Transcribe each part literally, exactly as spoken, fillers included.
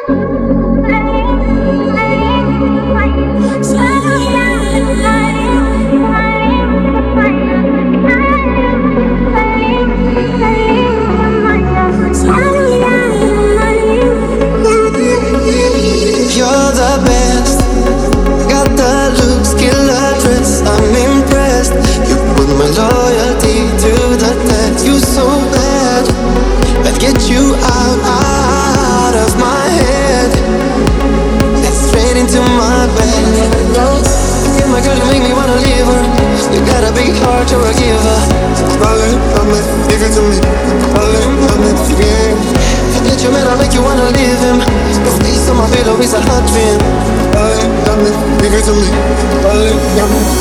To a giver, darling, come and give it to me. Darling, come and forget. Forget your man, I make you wanna leave him. Your face on my pillow is a hot dream. Darling, come and give it to me. Darling, come and.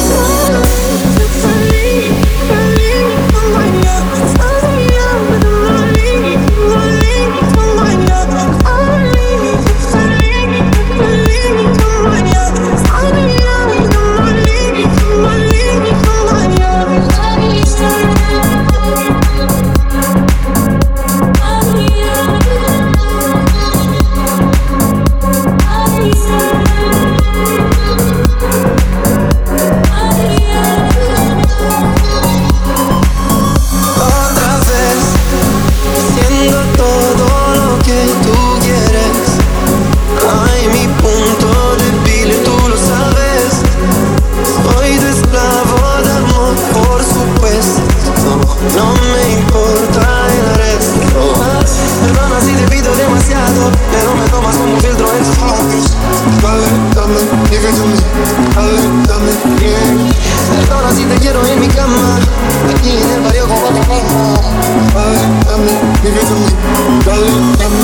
Pero me tomas como un filtro en tus ojos. Dale, dame, give it to me. Dale, dame, yeah. Perdona si te quiero en mi cama, aquí en el barrio como te vengo. Dale, dame, give it to me. Dale, dame.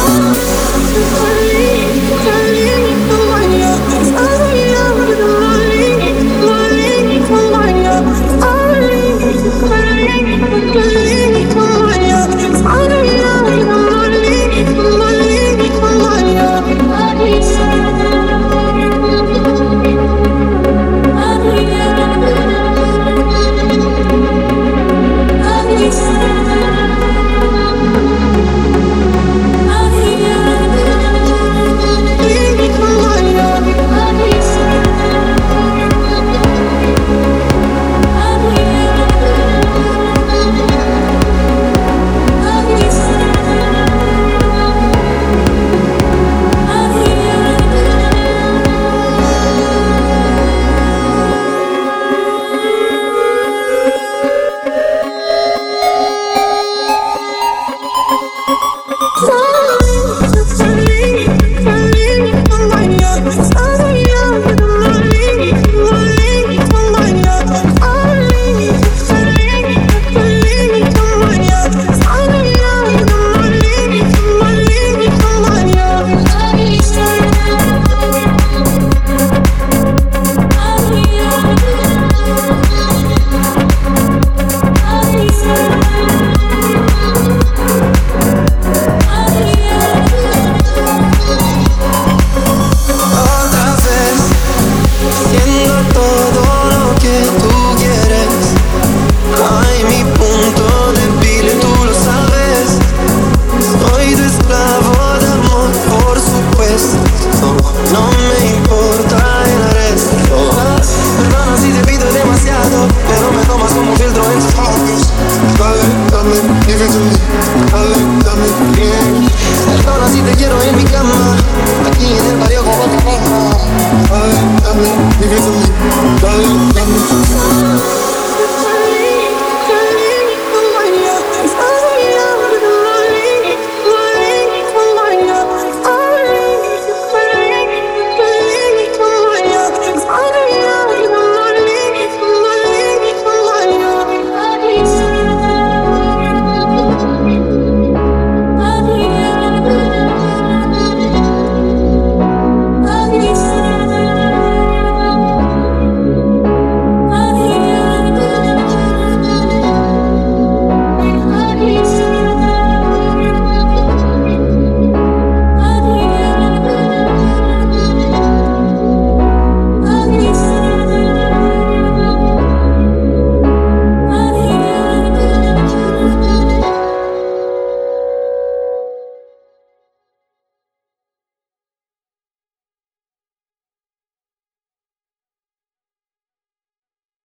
Give it to me, dale, dame, bien. Perdona si te quiero en mi cama, aquí en el barrio como te vengo. Dale, dame, give it to me, dale, dame.